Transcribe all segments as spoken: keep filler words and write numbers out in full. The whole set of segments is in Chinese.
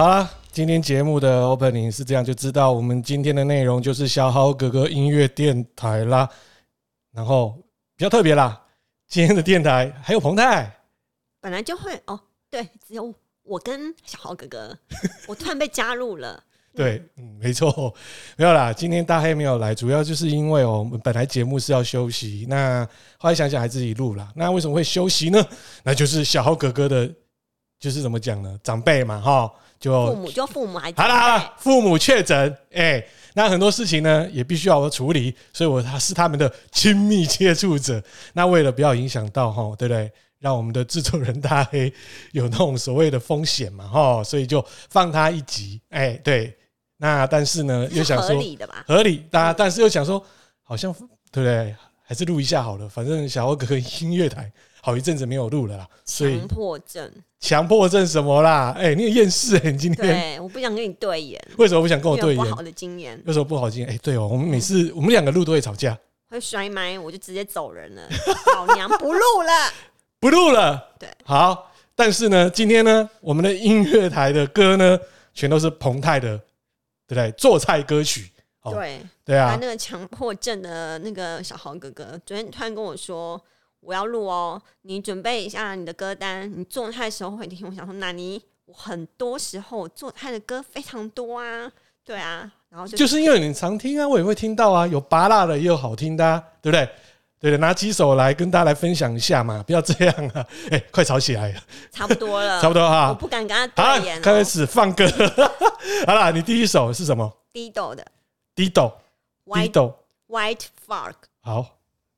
好啦，今天節目的 opening 是這樣，就知道我們今天的內容就是小豪哥哥音樂電台啦。然後比較特別啦，今天的電台還有彭太， 本來就會哦，對，只有我跟小豪哥哥，我突然被加入了。 對，嗯，沒錯，沒有啦。今天大黑沒有來，主要就是因為哦，我們本來節目是要休息，那後來想想還自己錄啦。那為什麼會休息呢？那就是小豪哥哥的，就是怎麼講呢？長輩嘛，哈，就父母就父母還好啦好啦，父母確診，哎，那很多事情呢也必須要我處理，所以我他是他們的親密接觸者。那為了不要影響到哈，對不對？讓我們的製作人大黑有那種所謂的風險嘛，哈，所以就放他一集，哎，對。那但是呢，又想說合理的吧？ 合理，大家但是又想說，好像對不對？還是錄一下好了，反正小豪哥哥音樂台好一陣子沒有錄了啦。所以強迫症， 強迫症什麼啦？哎、欸，你有厭世哎，你今天對，我不想跟你對眼。 為什麼不想跟我對眼？ 不好的經驗， 有什麼不好的經驗？哎、欸，對哦，我們每次、嗯、我們兩個錄都會吵架， 會摔麥，我就直接走人了。老娘不錄了，不錄了。 對， 好，但是呢，今天呢，我們的音樂台的歌呢，全都是彭太的。對不對？做菜歌曲，哦、 對對啊， 那個強迫症的那個小豪哥哥，昨天突然跟我說我要錄哦，你準備一下你的歌單，你做菜的時候會聽。我想說，那你我很多時候做菜的歌非常多啊，對啊，然後就， 就是因為你常聽啊，我也會聽到啊，有拔辣的也有好聽的、啊，對不對？對的，拿幾首來跟大家來分享一下嘛，不要這樣啊！哎、欸，快吵起來了， 差不多了， 差不多哈， 我不敢跟他對眼、喔。 開始放歌，好啦，你第一首是什麼 ？Dido 的 ，Dido，Dido White Flag。 好，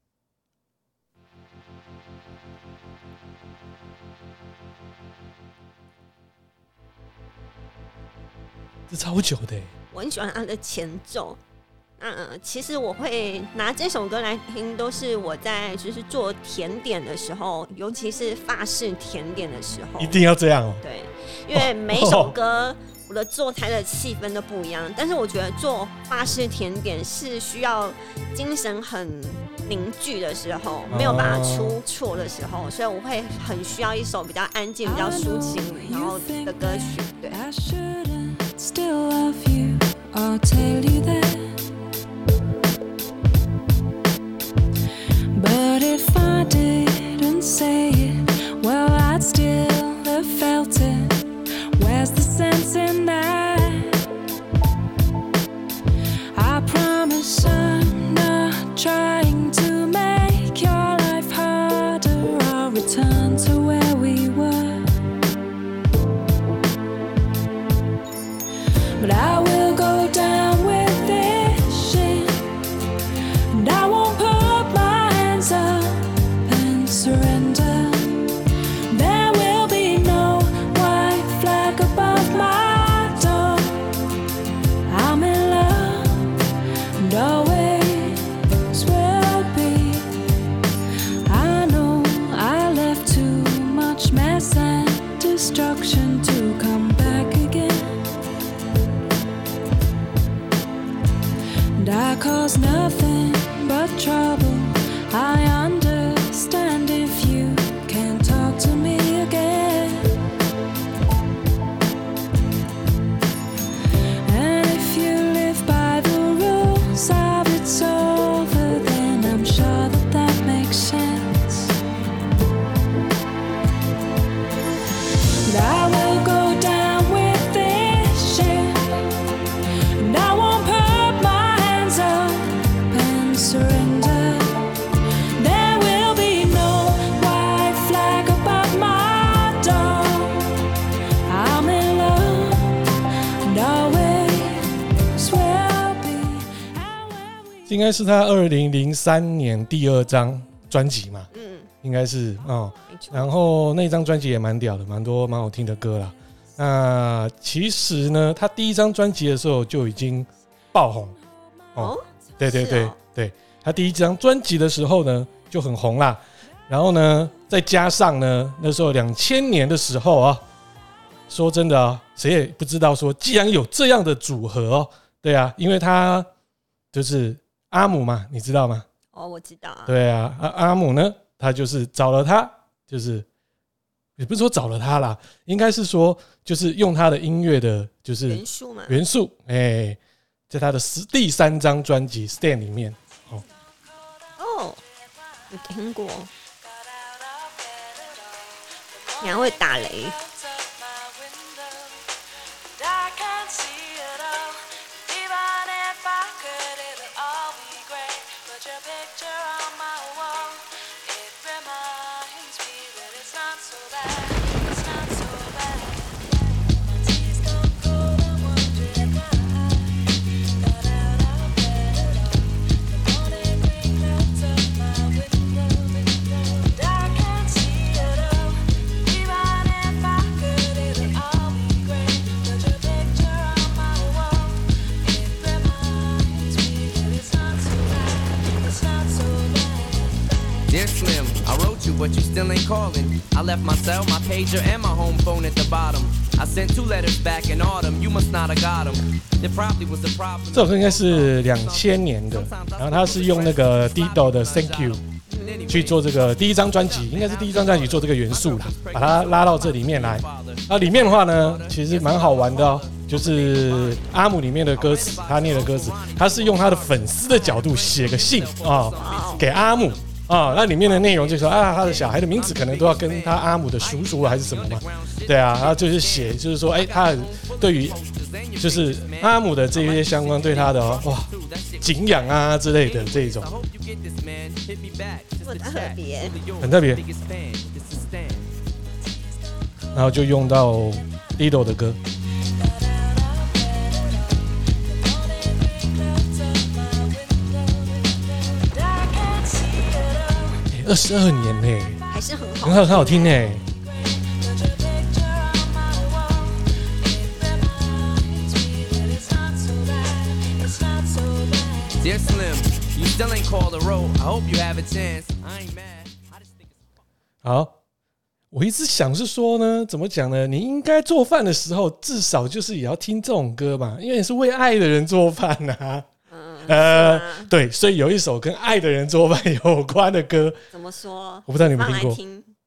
這超久的、欸， 我很喜歡他的前奏。嗯，其實我會拿這首歌來聽，都是我在就是做甜點的時候，尤其是法式甜點的時候， 一定要這樣哦。 對，因為每一首歌我的做菜的氣氛都不一樣，但是我覺得做法式甜點是需要精神很凝聚的時候，沒有辦法出錯的時候，所以我會很需要一首比較安靜、比較抒情然後的歌曲。對。 But if I didn't say it, well, I'd still have felt it. Where's the sense in that? I promise I'm not trying to make your life harder. I'll return to where we were. But I will go down with this shit, and I won't put my hands up and surrender. There will be no white flag above my door. I'm in love and always will be. I know I left too much mess and destruction to come back again. And I caused nothing but trouble. I understand if you can't talk to me again. And if you live by the rules of it's over, then I'm sure that that makes sense. And I will go down with this shit, and I won't put my hands up and surrender. There will be no white flag above my door. I'm in love and always will be. 应該是他二零零三年第二張專輯嘛，嗯，應該是哦。然後那張專輯也蠻屌的，蠻多蠻好聽的歌啦。那其實呢，他第一張專輯的時候就已經爆紅哦。對對對對，他第一張專輯的時候呢就很紅啦。然後呢，再加上呢，那時候兩千年的時候啊，說真的啊，誰也不知道說，既然有這樣的組合哦，對啊，因為他就是阿姆嘛，你知道嗎？ 哦，我知道啊。 對啊，阿阿姆呢，他就是找了他，就是也不是說找了他啦，應該是說就是用他的音樂的，就是元素嘛， 元素，哎、欸，在他的第三張專輯《Stand》裡面，哦， 哦，有聽過，你還會打雷。 But you still ain't calling. I left my cell, my pager, and my home phone at the bottom. I sent two letters back in autumn. You must not have got them. There probably was a problem. 這首歌應該是兩千年的，然後他是用那個 Dido 的 Thank You 去做這個第一張專輯，應該是第一張專輯做這個元素啦，把它拉到這裡面來。啊，裡面的話呢，其實蠻好玩的哦，就是阿姆裡面的歌詞，他念的歌詞，他是用他的粉絲的角度寫個信啊、哦，給阿姆。啊、哦，那裡面的內容就是說啊，他的小孩的名字可能都要跟他阿姆的叔叔還是什麼嘛？對啊，然後就是寫，就是說，哎、欸，他對於就是阿姆的這些相關對他的、哦、哇敬仰啊之類的這一種， 很特別， 很特別。然後就用到 Dido 的歌。二十二年呢、欸， 還是很好， 很好，很好聽呢、欸。 Dear Slim, you still ain't called a roll. I hope you have a chance. I ain't mad. 好，我一直想是說呢，怎麼講呢？你應該做飯的時候，至少就是也要聽這種歌嘛，因為你是為愛的人做飯吶。呃，對，所以有一首跟愛的人做飯有關的歌， 怎麼說？ 我不知道你們聽過。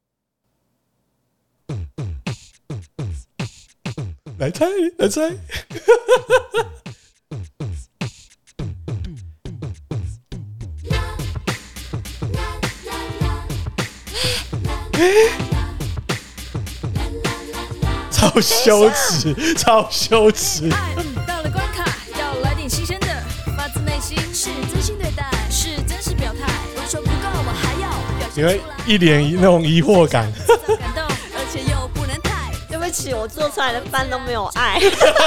來猜，來猜。超羞恥，超羞恥。 到了關卡，要來點新鮮的。是真心對待，是真實表態。我說不夠，我還要表現出來。 因為一臉那種疑惑感。 感動，而且又不能太。 對不起，我做出來的飯都沒有愛。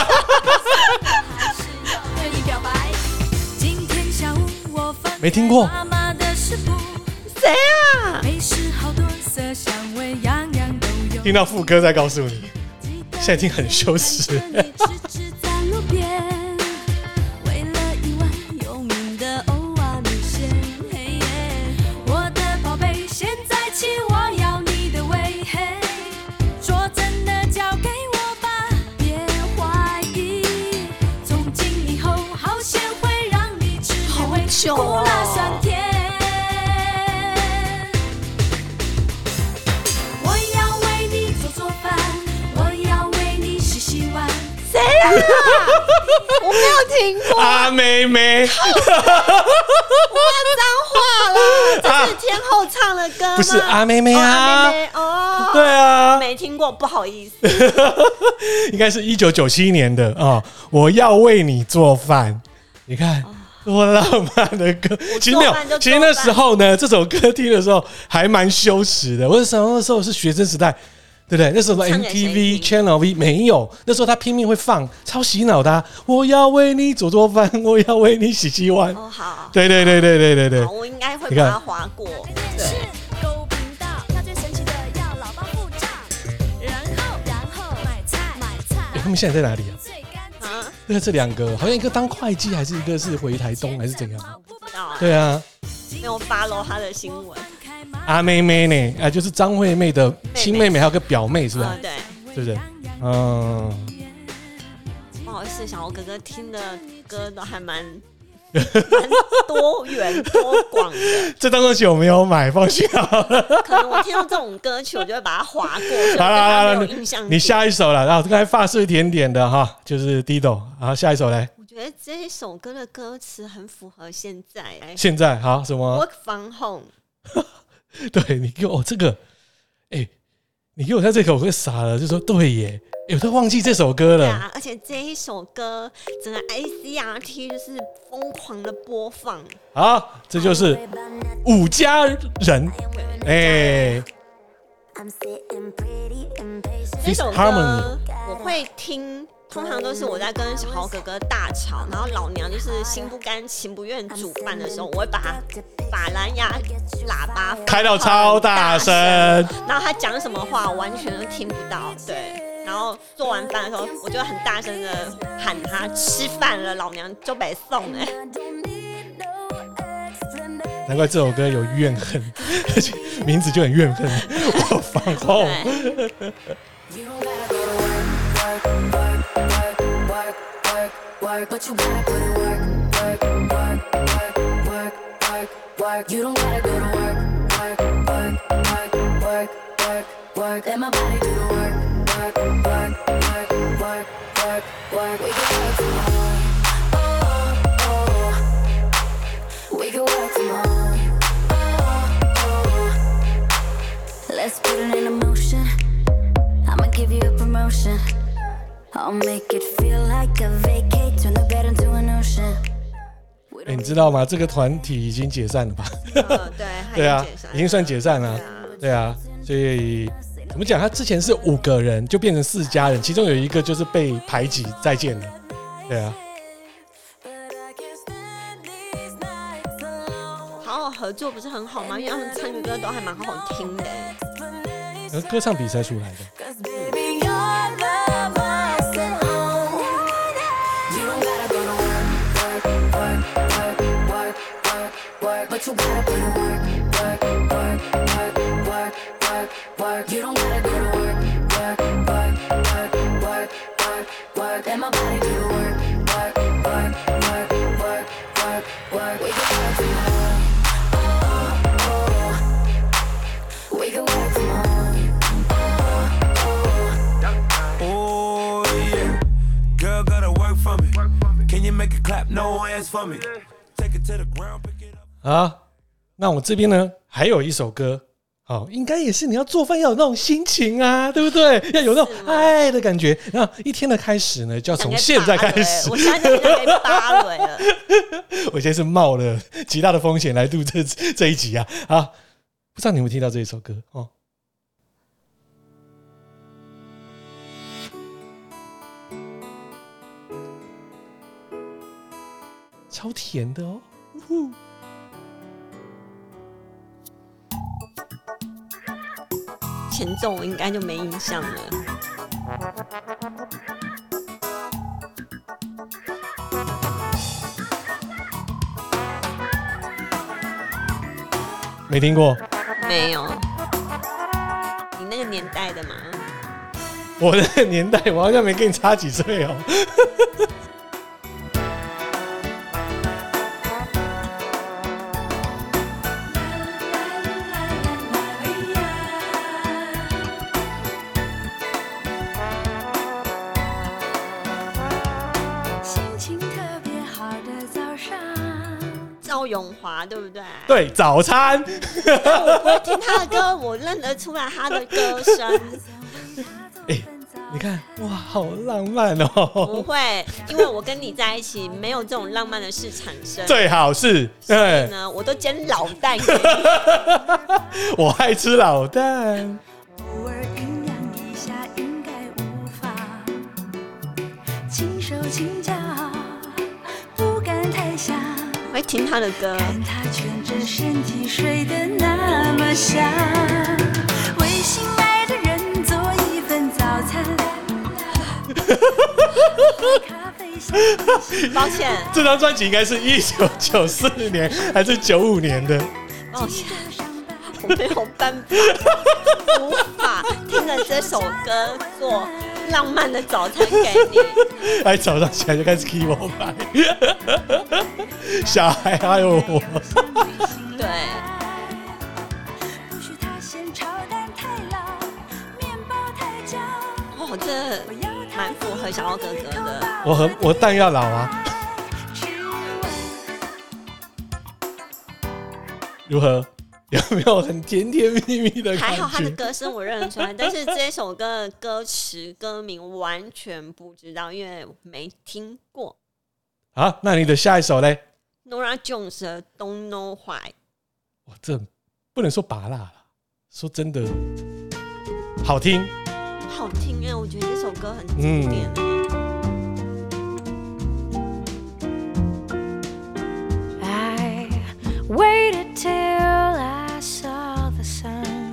對你表白。今天下午我放沒聽過。 誰啊？ 美食好多色香味，樣樣都有。 聽到副歌再告訴你，現在已經很羞恥了。 苦辣酸甜， 我要為你做做飯，我要為你洗洗碗。 誰啊？我沒有聽過。 阿妹妹， 我罵髒話了，這是天后唱的歌嗎？ 不是阿妹妹啊， 阿妹妹哦， 對啊， 沒聽過，不好意思。 應該是一九九七年的啊、哦。我要為你做飯，你看。哦多浪漫的歌，其實沒有。其實那時候呢，這首歌聽的時候還蠻羞恥的。為什麼那時候是學生時代，對不對？那時候 M T V Channel V 沒有，那時候他拼命會放，超洗腦的、啊。我要為你做做飯，我要為你洗洗碗。 哦，好。 對對對對對對對。 我應該會把它劃過。對。 他們現在在哪裡啊？那這兩個好像一個當會計，還是一個是回台東，還是怎樣？ 我不知道、欸。 對啊， 沒有 follow 他的新聞。 阿妹妹呢？哎、啊，就是張惠妹的親妹妹，還有個表妹，是吧？ 嗯、對， 是不是？嗯。 不好意思，小歐哥哥聽的歌都還蠻蠻多元多廣的。 這張專輯我沒有買，放心好了。 可能我聽到這種歌曲，我就會把它劃過。 好了好了， 你下一首了，然後剛才法式甜點的哈，就是 Dido。好，下一首來。 我覺得這一首歌的歌詞很符合現在。 現在好什麼 ？Work from home。 對你給我、哦、這個，哎、欸，你給我看這個，我會傻了，就說對耶。有都忘記這首歌了， 啊！而且這一首歌，整個 A C R T 就是瘋狂的播放。 好，這就是五家人，哎、欸， 這首歌我會聽，通常都是我在跟小豪哥哥大吵，然後老娘就是心不甘情不願煮飯的時候，我會把把藍牙喇叭開到超大聲， 然後他講什麼話我完全都聽不到，對。然後做完飯的時候，我就很大聲的喊他吃飯了，老娘就被送哎。 難怪這首歌有怨恨，而且名字就很怨恨。我放空。 Work, work, work, work, work, work. We can work tomorrow. Oh, oh. We can work tomorrow. Oh, oh. Let's put it in motion. I'ma give you a promotion. I'll make it feel like a vacate. Turn the bed into an ocean. 欸、你知道嗎？這個團體已經解散了吧？ 呃、對， 對啊，已經算解散了。對啊，所以。我們講，他之前是五個人，就變成四家人，其中有一個就是被排擠，再見了。對啊， 好好合作不是很好嗎？因為他們唱的歌都還蠻好聽的。 而歌唱比賽出來的。 You don't gotta go to work, work, work, work, work, work, work. Let my body do the work, work, work, work, work, work, work. We can work tomorrow. Oh, oh. We can work tomorrow. Oh, oh. Oh yeah, girl gotta work for me. Can you make it clap? No hands for me. Take it to the ground, pick it up. 好，那我這邊呢還有一首歌。哦，應該也是你要做飯要有那種心情啊，對不對？要有那種愛的感覺。那一天的開始呢，就要從現在開始。 我現在就可以芭蕾了。 我現在是冒了極大的風險來錄這這一集啊！好，不知道你有沒有聽到這一首歌哦？超甜的哦！呼前奏我应该就没印象了。 没聽過？ 沒有。你那個年代的嗎？ 我那個年代，我好像沒跟你差幾歲哦。 趙詠華對不對？ 對，早餐。 但我不會聽他的歌，我認得出來他的歌聲。 欸，你看，哇，好浪漫哦！ 不會，因為我跟你在一起，沒有這種浪漫的事產生。 最好是， 所以呢，我都煎老蛋給你。 我愛吃老蛋。 偶爾醞釀一下，應該無妨。輕手輕腳，不敢太想。 我會聽他的歌， 看他蜷着身體睡得那麼香，為心愛的人做一份早餐。 抱歉， 這張專輯應該是一九九四年還是九五年的？ 抱歉，我沒有辦法，無法聽着這首歌做浪漫的早餐給你。 哎，早上起來就開始 keep 我牌，小孩還有我。 對。哦，這蠻符合小奧哥哥的。 我很我蛋要老啊。如何？有沒有很甜甜蜜蜜的感覺？ 還好他的歌聲我認得出來，但是這首歌的歌詞歌名完全不知道，因為沒聽過。 好，那你的下一首嘞 ？Norah Jones 的 Don't Know Why。 哇，這不能說拔辣了，說真的好聽， 好聽哎！我覺得這首歌很經典哎。嗯 Waited till I saw the sun.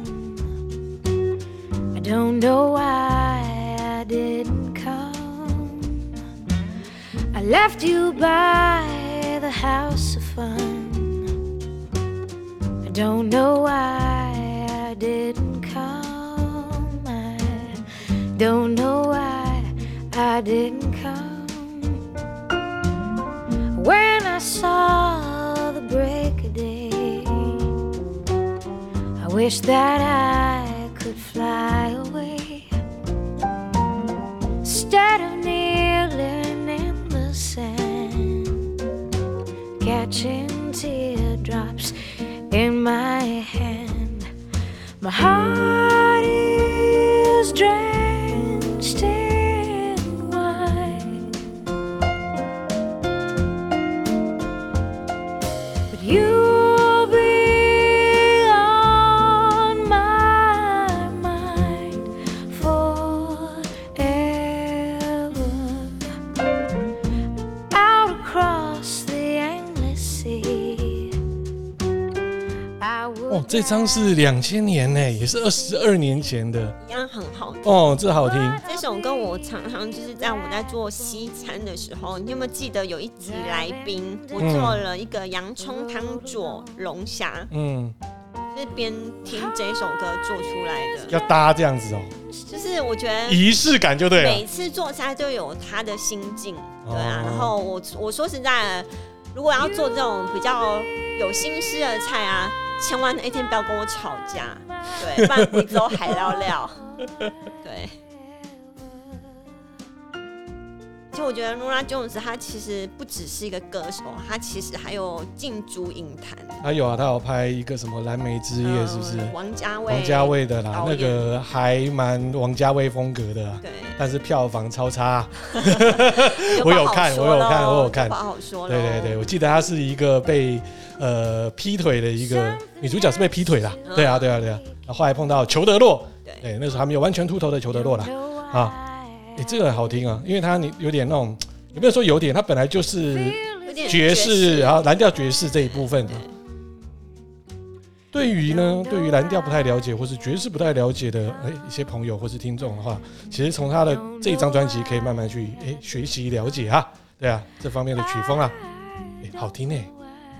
I don't know why I didn't come. I left you by the house of fun. I don't know why I didn't come. I don't know why I didn't come. When I saw the break of day, I wish that I could fly away instead of kneeling in the sand, catching teardrops in my hand. My heart is drenched in wine, but you'll be on my mind forever. Out across the endless sea, I 哦， would 这张是两千年呢，也是二十二年前的一样很好听。 哦，这好听。 这首歌我常常就是在我在做西餐的时候，你有没有记得有一集来宾，我做了一個洋蔥湯佐龍蝦， 嗯， 就是邊聽這首歌做出來的， 要搭這樣子哦， 就是我覺得儀式感就對了。 每次做菜都有他的心境，對啊。 哦、 然後我我說實在的，如果要做這種比較有心思的菜啊，千萬那一天不要跟我吵架，對，不然貴州海料料，對。其實我覺得 Norah Jones 他其實不只是一個歌手，他其實還有進駐影壇。 他有啊，他有拍一個什麼《藍莓之夜》，是不是？ 嗯、王家衛， 王家衛的啦，那個還蠻王家衛風格的啦。對。但是票房超差、啊。我有看，我有看，我有看。 不好說了。 對對對，我記得他是一個被呃劈腿的一個女主角，是被劈腿啦。嗯、對啊，對啊，對啊。然後後來碰到裘德洛，對，對，那時候還沒有完全禿頭的裘德洛啦。啊。哎、欸，這個很好聽啊，因為它你有點那種，有沒有說有點？它本來就是爵士，然後藍調爵士這一部分。對於呢，對於藍調不太了解，或是爵士不太了解的，哎、欸，一些朋友或是聽眾的話，其實從他的這一張專輯可以慢慢去哎、欸、學習了解啊，對啊，這方面的曲風啊，哎、欸，好聽哎。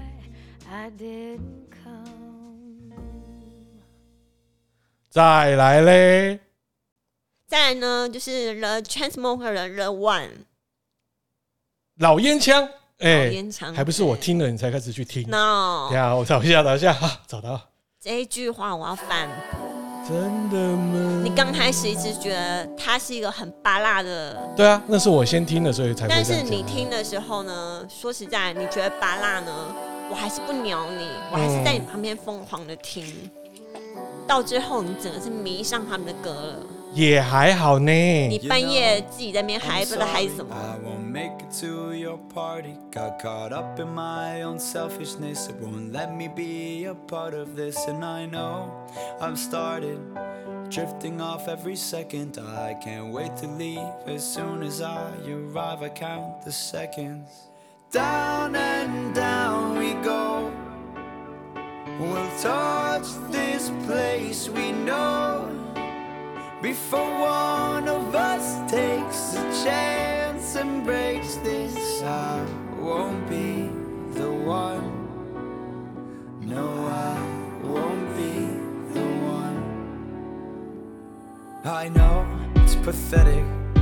再來嘞。 再來呢，就是 The Chainsmokers 的 The One 老煙槍，哎、欸， 老煙槍還不是我聽了你才開始去聽。 No， 等一下我找一下，找一下，啊、找到這一句話我要反駁。 真的嗎？ 你剛開始一直覺得它是一個很芭樂的， 對啊，那是我先聽的，所以才會這樣講。 但是你聽的時候呢，說實在，你覺得芭樂呢，我還是不鳥你，我還是在你旁邊瘋狂的聽，嗯、到最後你整個是迷上他們的歌了。 也還好呢。 你半夜自己在那邊嗨，不知道嗨什麼。 I won't make it to your party. Got caught up in my own selfishness. It won't let me be a part of this. And I know I've started drifting off every second. I can't wait to leave as soon as I arrive. I count the seconds. Down and down we go. We'll touch this place we know.Before one of us takes a chance and breaks this, I won't be the one. No, I won't be the one. I know it's pathetic,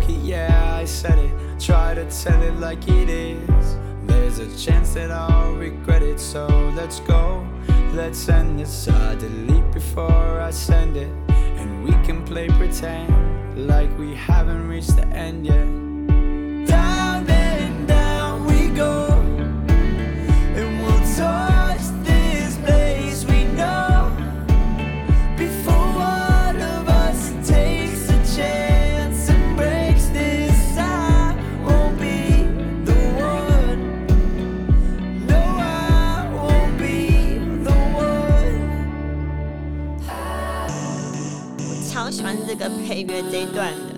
it, yeah, I said it. Try to tell it like it is. There's a chance that I'll regret it, so let's go. Let's end this. I delete before I send it, and we can play pretend like we haven't reached the end yet. Down and down we go, and we'll touch this place we know before one of us takes a chance and breaks this. I won't be the one. No, I won't be the one. 我超喜欢这个配乐这一段的。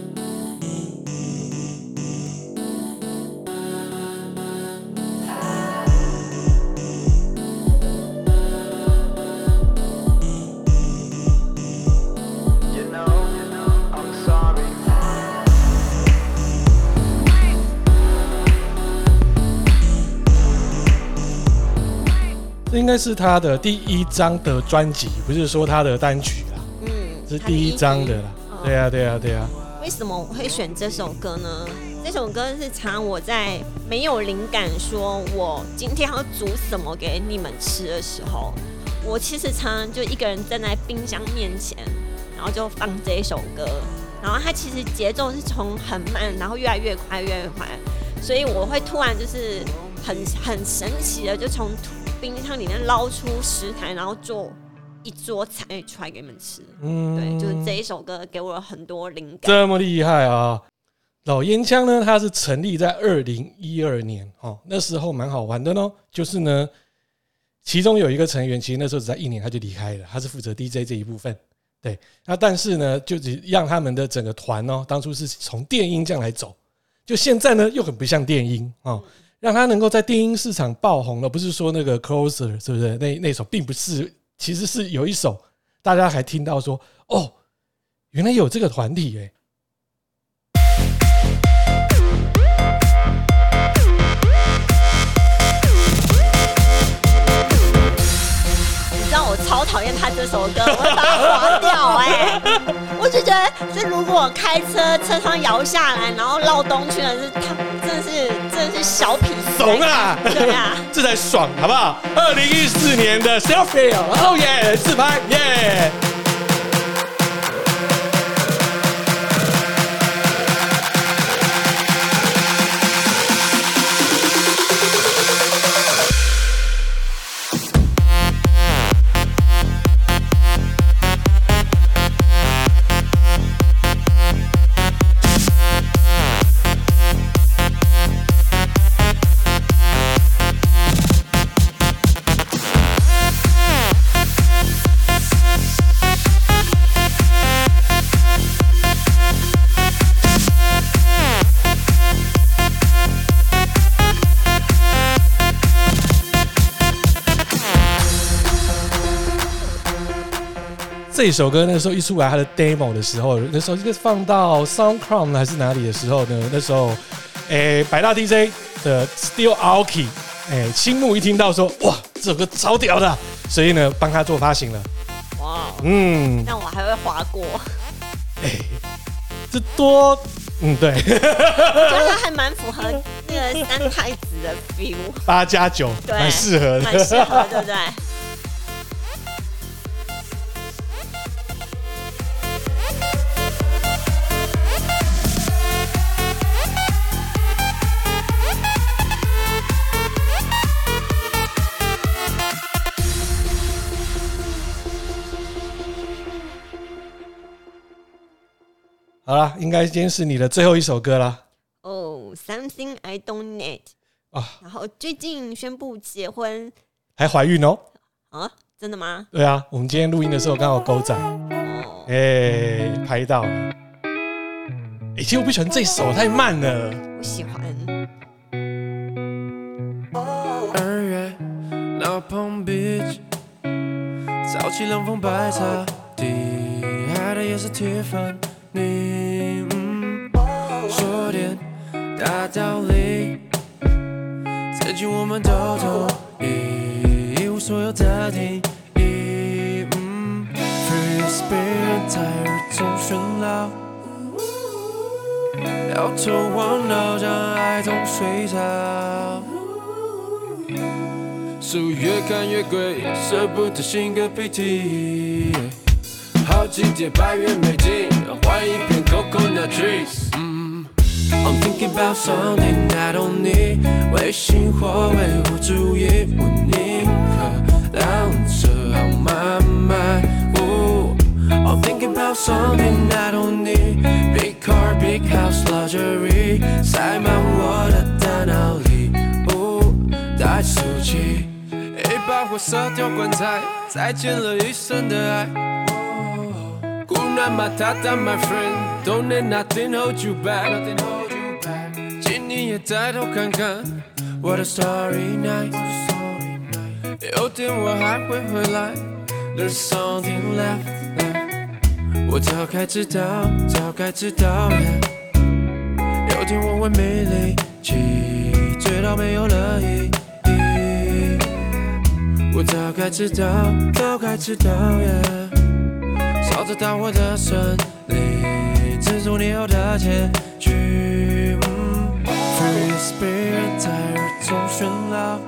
这应该是他的第一张的专輯，不是說他的單曲啦。嗯，是第一張的啦。哦、對啊，對啊，對啊。 為什麼我會選這首歌呢？這首歌是常我在沒有靈感，說我今天要煮什麼給你們吃的時候，我其實常常就一個人站在冰箱面前，然後就放這一首歌。然後它其實節奏是從很慢，然後越來越快，越來越快，所以我會突然就是很很神奇的就從冰箱裡面撈出食材，然後做一桌菜出來給你們吃。嗯，對，就是這一首歌給我了很多靈感。 這麼厲害啊！老煙槍呢，它是成立在二零一二年哦，那時候蠻好玩的呢。就是呢，其中有一個成員，其實那時候只在一年他就離開了，他是負責 D J 這一部分。對，那但是呢，就只讓他們的整個團哦，當初是從電音這樣來走，就現在呢又很不像電音哦。讓他能夠在電音市場爆紅了，不是說那個 Closer 是不是？那那首並不是，其實是有一首大家還聽到說，哦，原來有這個團體欸。 你知道我超討厭他這首歌，我會把它劃掉哎。我就覺得，這如果開車車窗搖下來，然後繞東去的是他，真的是真的是小痞慫啊！ 對啊， 這才爽，好不好？二零一四年的 Selfie， 哦耶，自拍耶！這首歌那時候一出來，它的 demo 的時候，那時候應該放到 SoundCloud 還是哪裡的時候呢？那時候，誒，百大 D J 的 Steel Aoki， 誒，青木一聽到說，哇，這首歌超屌的，所以呢，幫他做發行了。 哇， 嗯， 那我還會劃過。 誒，這多，嗯，對，我覺得它還蠻符合那個三太子的 feel， 八加九，蠻適合的， 蠻適合，對不對？好啦，應該今天是你的最後一首歌啦。 哦、oh, ，Something I Don't Need 啊，然後最近宣布結婚， 還懷孕哦。 啊，真的嗎？ 對啊，我們今天錄音的時候剛好狗仔，哦，哎，拍到了。哎，其實我不喜歡這首，太慢了。 我喜歡。 二月老彭 beach， 早起冷風白茶，底海的也是鐵粉。你嗯，說點大道理，曾經我們都同意，一無所有的定義。嗯 ，Free spirit 在日中喧鬧， 搖頭晃腦將愛從水草，書越看越貴，捨不得擤個鼻涕。好幾疊百元美金，換一片 coconut trees。嗯 I'm thinking about something I don't need， 唯心或唯物主義，我寧可讓這號慢慢。I'm thinking about something I don't need， big car, big house, luxury， 塞滿我的大腦裡，哦，帶速記，一把火燒掉棺材，再見了一生的愛。Kuna Matata, my friend, don't let nothing hold you back. 請你也抬頭看看我的 Starry Night， 有天我還會回來 ，There's something left, left. 我早該知道，早該知道 yeah. 有天我會沒力氣，醉到沒有了意義。我早該知道，早該知道 yeah。燒着大火的森林，蜘蛛你後的結局。嗯、Free spirit 在耳中喧鬧，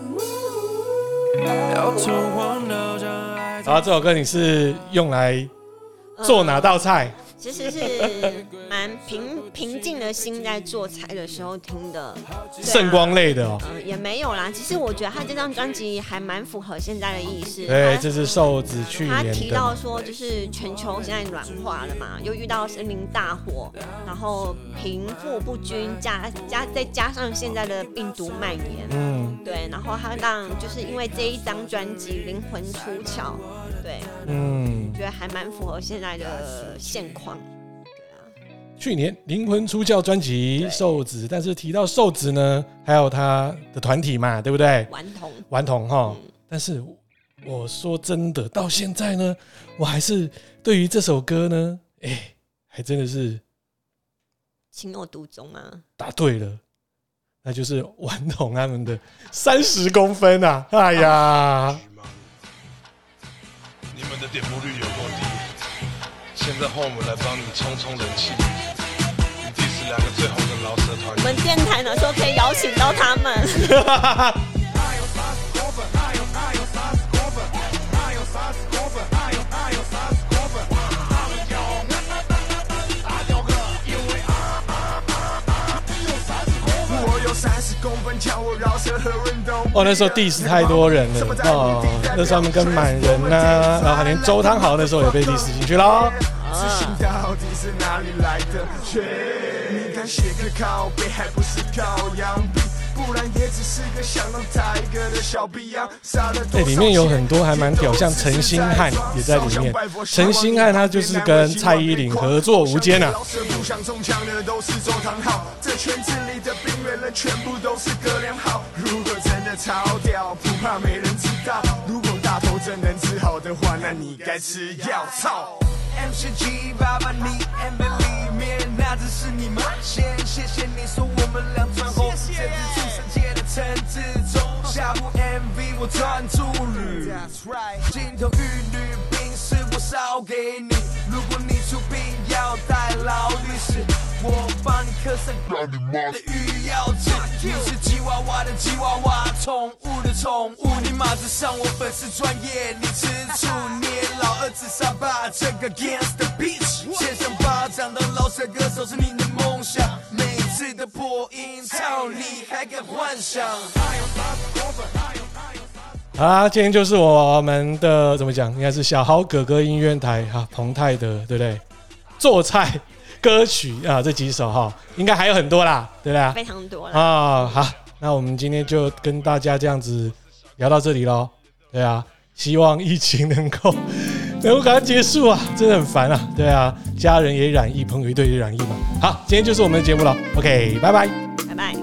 搖頭晃腦將愛。 好，這首歌你是用來做哪道菜？ 呃其實是蠻平平靜的心在做菜的時候聽的， 聖光類的哦、 呃，也沒有啦。其實我覺得他這張專輯還蠻符合現在的意識。 對，這是瘦子去年的。 他提到說，就是全球現在暖化了嘛，又遇到森林大火，然後貧富不均，加加再加上現在的病毒蔓延，嗯，對，然後他讓就是因為這一張專輯《靈魂出竅》。對，嗯，覺得還蠻符合現在的現況。對啊， 去年《靈魂出竅》專輯瘦子，但是提到瘦子呢，還有他的團體嘛，對不對？ 頑童， 頑童哈。但是我說真的，到現在呢，我還是對於這首歌呢，哎、欸，還真的是情有獨鍾啊。 答對了，那就是頑童他們的三十公分啊！哎呀。 你們的點播率有多低？現在換我們來幫你衝衝人氣。你第十兩個最紅的饒舌團， 我們電台哪時候可以邀請到他們？ 哦，那时候 diss 太多人了哦，那时候他們跟滿人吶、啊，然後還連周湯豪那時候也被 diss 進去咯。自信到底是哪裡來的？你敢寫個靠北，還不是靠洋幣？不然也只是個想當台哥的小逼樣。哎，裡面有很多還蠻屌，像陳星漢也在裡面。陳星漢他就是跟蔡依林合作無間啊。這圈子裡的邊緣人全部都是哥倆好。如果真的超屌，不怕沒人知道。如果大頭真能治好的話，那你該吃藥。操 ！M C G 爸爸，你 M V 裡面那只是你們先，謝謝你說我們倆傳紅，這是出生界的陳志忠。下部 M V 我專注旅，金童玉女兵是我燒給你。如果你出兵要帶勞力士，我幫你刻上你媽的御藥紙。你是吉娃娃的吉娃娃，寵物的寵物。你馬子上我粉絲專業，你吃醋，你老二自殺吧，這個 Gangsta Bitch。獻上巴掌當饒舌歌手是你的夢想，每次的破音操你還敢幻想？好啦，今天就是我們的怎麼講，應該是小豪哥哥音樂台哈，澎泰的對不對？做菜歌曲啊，這幾首哈，應該還有很多啦，對不對？ 非常多啦。 啊，好，那我們今天就跟大家這樣子聊到這裡咯。對啊，希望疫情能夠能夠趕快結束啊，真的很煩啊。對啊，家人也染疫，朋友一堆也染疫嘛。好，今天就是我們的節目了。OK， 拜拜， 拜拜。